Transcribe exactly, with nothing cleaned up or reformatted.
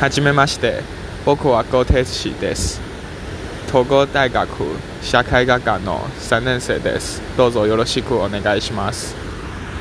はじめまして、僕は小手氏です。東郷大学社会学科のさんねん生です。どうぞよろしくお願いします。